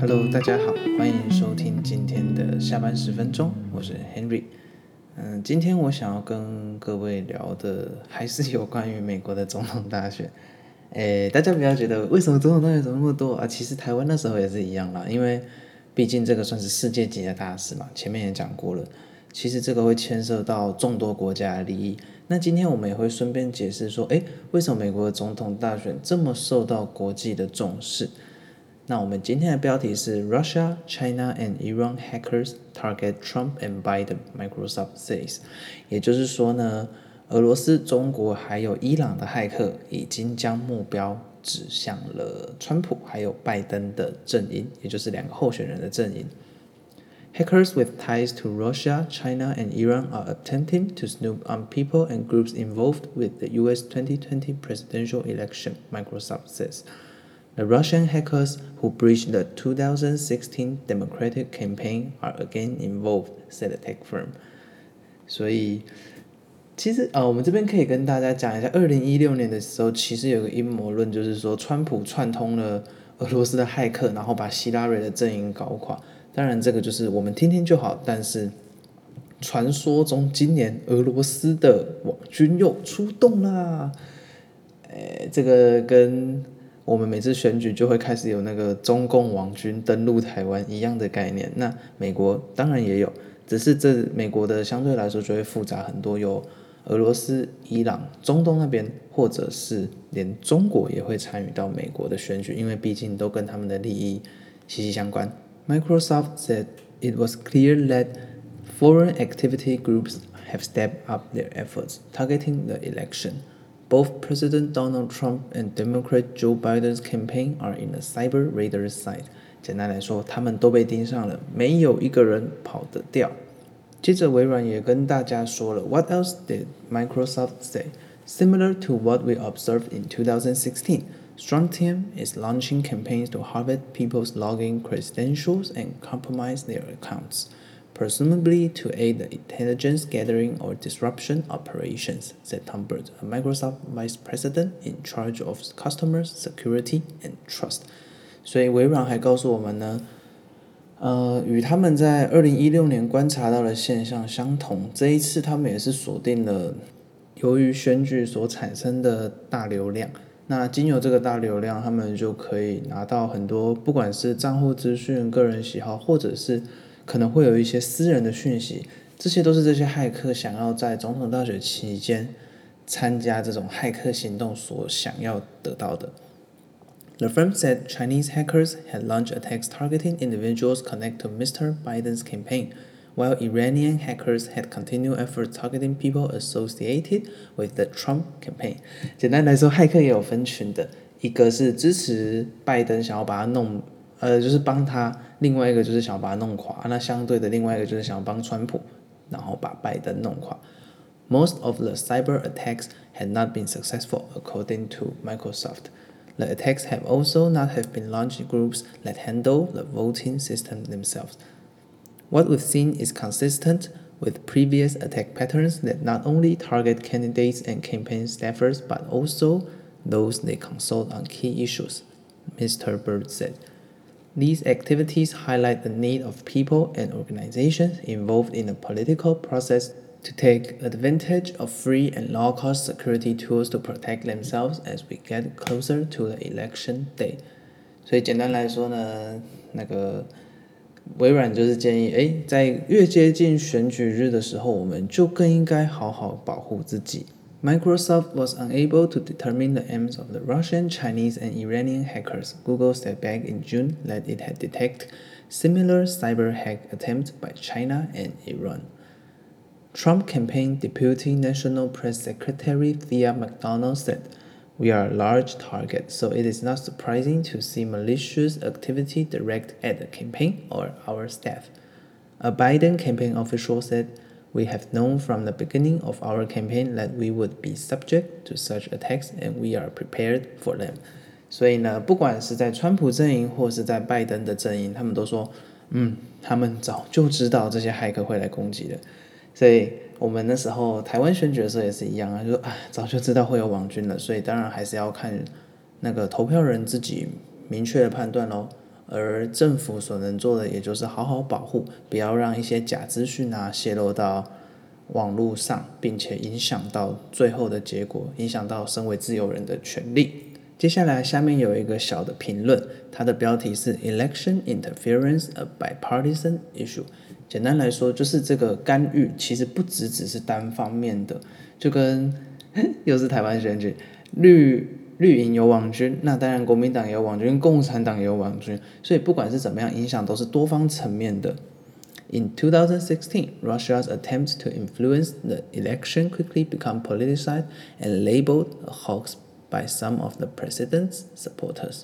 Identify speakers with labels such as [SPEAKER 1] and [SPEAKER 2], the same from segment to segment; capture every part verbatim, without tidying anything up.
[SPEAKER 1] Hello， 大家好，歡迎收聽今天的下班十分鐘，我是 Henry。嗯，今天我想要跟各位聊的還是有關於美國的總統大選。誒，大家不要覺得為什麼總統大選怎麼那麼多啊？其實台灣那時候也是一樣啦，因為畢竟這個算是世界級的大事嘛，前面也講過了。其實這個會牽涉到眾多國家的利益。那今天我們也會順便解釋說，誒，為什麼美國的總統大選這麼受到國際的重視？那我們今天的標題是 Russia, China and Iran hackers target Trump and Biden, Microsoft says。也就是說呢，俄羅斯、中國還有伊朗的駭客已經將目標指向了川普還有拜登的陣營，也就是兩個候選人的陣營。Hackers with ties to Russia, China, and Iran are attempting to snoop on people and groups involved with the U S twenty twenty presidential election, Microsoft says. The Russian hackers who breached the two thousand sixteen Democratic campaign are again involved, said the tech firm. 所以，其實呃，我們這邊可以跟大家講一下，二零一六年的時候，其實有個陰謀論，就是說川普串通了俄羅斯的駭客，然後把希拉蕊的陣營搞垮。當然，這個就是我們聽聽就好。但是，傳說中今年俄羅斯的網軍又出動啦。誒，這個跟我們每次選舉就會開始有那個中共網軍登陸台灣一樣的概念。那美國當然也有，只是這美國的相對來說就會複雜很多，有俄羅斯、伊朗、中東那邊，或者是連中國也會參與到美國的選舉，因為畢竟都跟他們的利益息息相關。Microsoft said it was clear that foreign activity groups have stepped up their efforts targeting the election. Both President Donald Trump and Democrat Joe Biden's campaign are in the cyber radar's sight. 簡單來說，他們都被盯上了，沒有一個人跑得掉。接着，微軟也跟大家說了 What else did Microsoft say? Similar to what we observed in two thousand sixteen, Strontium is launching campaigns to harvest people's login credentials and compromise their accounts, presumably to aid the intelligence gathering or disruption operations, said Tom Bird, a Microsoft vice president in charge of customer security and trust. 所以微軟還告訴我們呢，呃，與他們在二零一六年觀察到的現象相同，這一次他們也是鎖定了由於選舉所產生的大流量。那經由這個大流量，他們就可以拿到很多，不管是賬戶資訊、個人喜好，或者是可能會有一些私人的訊息，這些都是這些駭客想要在總統大選期間參加這種駭客行動所想要得到的。The firm said Chinese hackers had launched attacks targeting individuals connected to Mister Biden's campaign, while Iranian hackers had continued efforts targeting people associated with the Trump campaign. 簡單來說，駭客也有分群的，一個是支持拜登，想要把他弄，呃，就是幫他；另外一個就是想要把他弄垮。那相對的，另外一個就是想要幫川普，然後把拜登弄垮。Most of the cyber attacks had not been successful, according to Microsoft. The attacks have also not have been launched groups that handle the voting system themselves. What we've seen is consistent with previous attack patterns that not only target candidates and campaign staffers, but also those they consult on key issues, Mister Bird said. These activities highlight the need of people and organizations involved in the political process to take advantage of free and low-cost security tools to protect themselves as we get closer to the election day. 所以簡單來說呢，那個微軟就是建議，誒，在越接近選舉日的時候，我們就更應該好好保護自己。Microsoft was unable to determine the aims of the Russian, Chinese, and Iranian hackers. Google said back in June that it had detected similar cyber hack attempts by China and Iran. Trump campaign Deputy National Press Secretary Thea McDonald said, We are a large target, so it is not surprising to see malicious activity directed at the campaign or our staff. A Biden campaign official said, We have known from the beginning of our campaign that we would be subject to such attacks and we are prepared for them. 所以呢，不管是在川普陣營或是在拜登的陣營，他們都說，嗯，他們早就知道這些駭客會來攻擊的。所以我們那時候台灣選舉的時候也是一樣啊，就說啊，早就知道會有網軍了，所以當然還是要看那個投票人自己明確的判斷咯。 而政府所能做的也就是好好保護，不要讓一些假資訊啊洩露到網絡上，並且影響到最後的結果，影響到身為自由人的權利。接下來下面有一個小的評論，它的標題是 Election Interference a Bipartisan Issue。 簡單來說就是這個干預其實不只只是單方面的，就跟又是台灣選舉，綠綠營有網軍，那當然國民黨也有網軍，共產黨也有網軍，所以不管是怎麼樣，影響都是多方層面的。In two thousand sixteen, Russia's attempts to influence the election quickly became politicized and labeled a hoax by some of the president's supporters.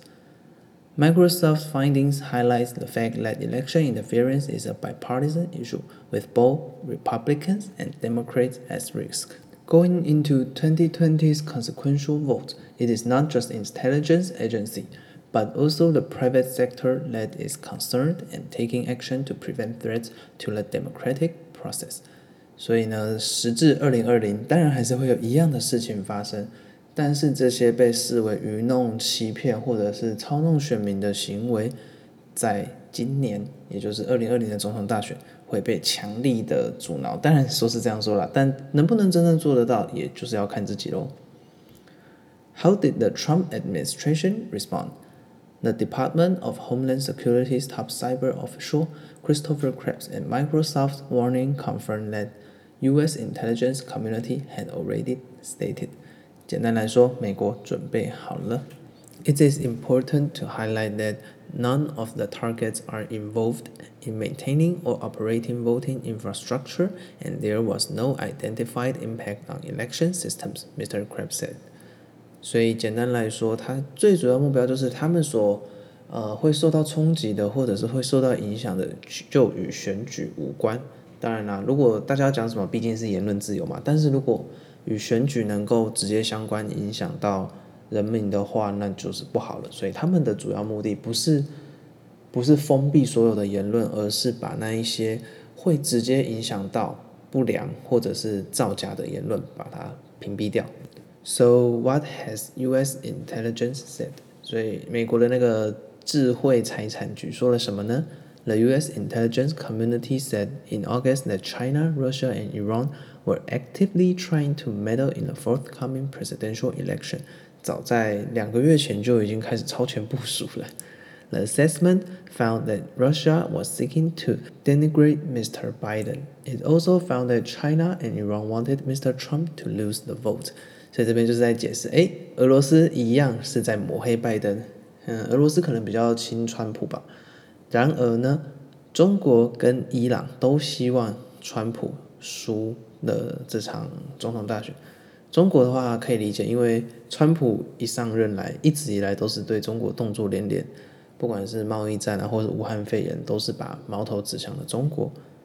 [SPEAKER 1] Microsoft's findings highlight the fact that election interference is a bipartisan issue, with both Republicans and Democrats at risk. Going into twenty twenty's consequential vote, it is not just intelligence agency, but also the private sector that is concerned and taking action to prevent threats to the democratic process. 所以呢，時至二零二零，當然還是會有一樣的事情發生，但是這些被視為愚弄、欺騙或者是操弄選民的行為，在今年，也就是二零二零的總統大選，會被強力的阻撓。當然說是這樣說啦，但能不能真正做得到，也就是要看自己咯。How did the Trump administration respond?The Department of Homeland Security's top cyber official, Christopher Krebs, and Microsoft's warning confirmed that U S intelligence community had already stated. 簡單來說，美國準備好了。It is important to highlight that none of the targets are involved in maintaining or operating voting infrastructure, and there was no identified impact on election systems, Mister Krebs said.所以簡單來說，它最主要目標就是他們所呃會受到衝擊的，或者是會受到影響的，就與選舉無關。當然啦，如果大家要講什麼，畢竟是言論自由嘛。但是如果與選舉能夠直接相關，影響到人民的話，那就是不好了。所以他們的主要目的不是不是封閉所有的言論，而是把那一些會直接影響到不良或者是造假的言論，把它屏蔽掉。So what has U S intelligence said? 所以美國的那個智慧財產局說了什麼呢？ The U S intelligence community said in August that China, Russia, and Iran were actively trying to meddle in the forthcoming presidential election. 早在兩個月前就已經開始超前部署了。The assessment found that Russia was seeking to denigrate Mister Biden. It also found that China and Iran wanted Mister Trump to lose the vote.所以這邊就是在解釋，誒，俄羅斯一樣是在抹黑拜登，嗯，俄羅斯可能比較親川普吧。然而呢，中國跟伊朗都希望川普輸了這場總統大選。中國的話可以理解，因為川普一上任來，一直以來都是對中國動作連連，不管是貿易戰啊，或者武漢肺炎，都是把矛頭指向了中國。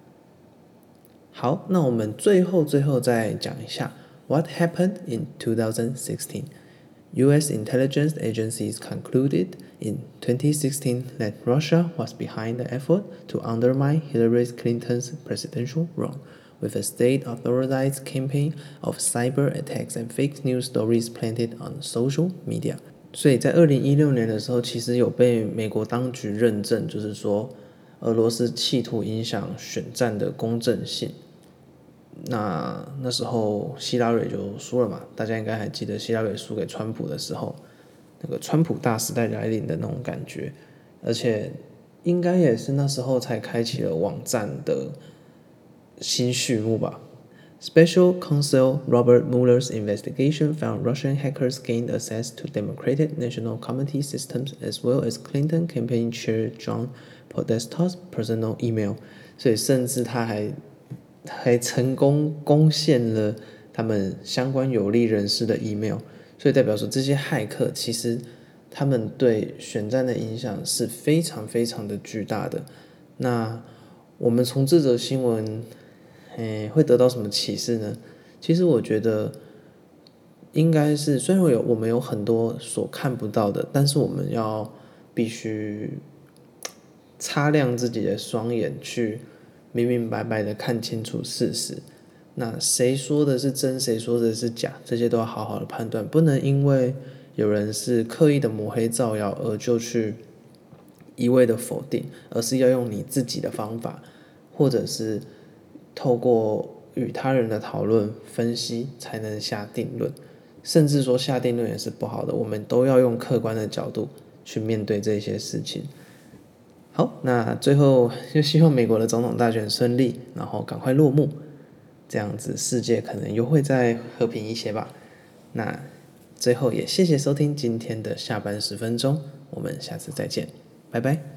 [SPEAKER 1] 好，那我們最後最後再講一下。What happened in two thousand sixteen? U S intelligence agencies concluded in twenty sixteen that Russia was behind the effort to undermine Hillary Clinton's presidential run, with a state-authorized campaign of cyber attacks and fake news stories planted on social media. 所以在二零一六年的時候，其實有被美國當局認證，就是說俄羅斯企圖影響選戰的公正性。那那時候希拉蕊就輸了嘛，大家應該還記得希拉蕊輸給川普的時候，那個川普大時代來臨的那種感覺，而且應該也是那時候才開啟了網戰的新序幕吧。Special Counsel Robert Mueller's investigation found Russian hackers gained access to Democratic National Committee systems as well as Clinton campaign chair John Podesta's personal email， 所以甚至他還還成功攻陷了他們相關有利人士的 email， 所以代表說這些駭客其實他們對選戰的影響是非常非常的巨大的。那我們從這則新聞，誒，會得到什麼啟示呢？其實我覺得應該是，雖然有我們有很多所看不到的，但是我們要必須擦亮自己的雙眼去。明明白白的看清楚事實，那誰說的是真，誰說的是假，這些都要好好的判斷，不能因為有人是刻意的抹黑造謠而就去一味的否定，而是要用你自己的方法，或者是透過與他人的討論分析才能下定論。甚至說下定論也是不好的，我們都要用客觀的角度去面對這些事情。好，那最後就希望美國的總統大選順利，然後趕快落幕，這樣子世界可能又會再和平一些吧。那最後也謝謝收聽今天的下班十分鐘，我們下次再見，拜拜。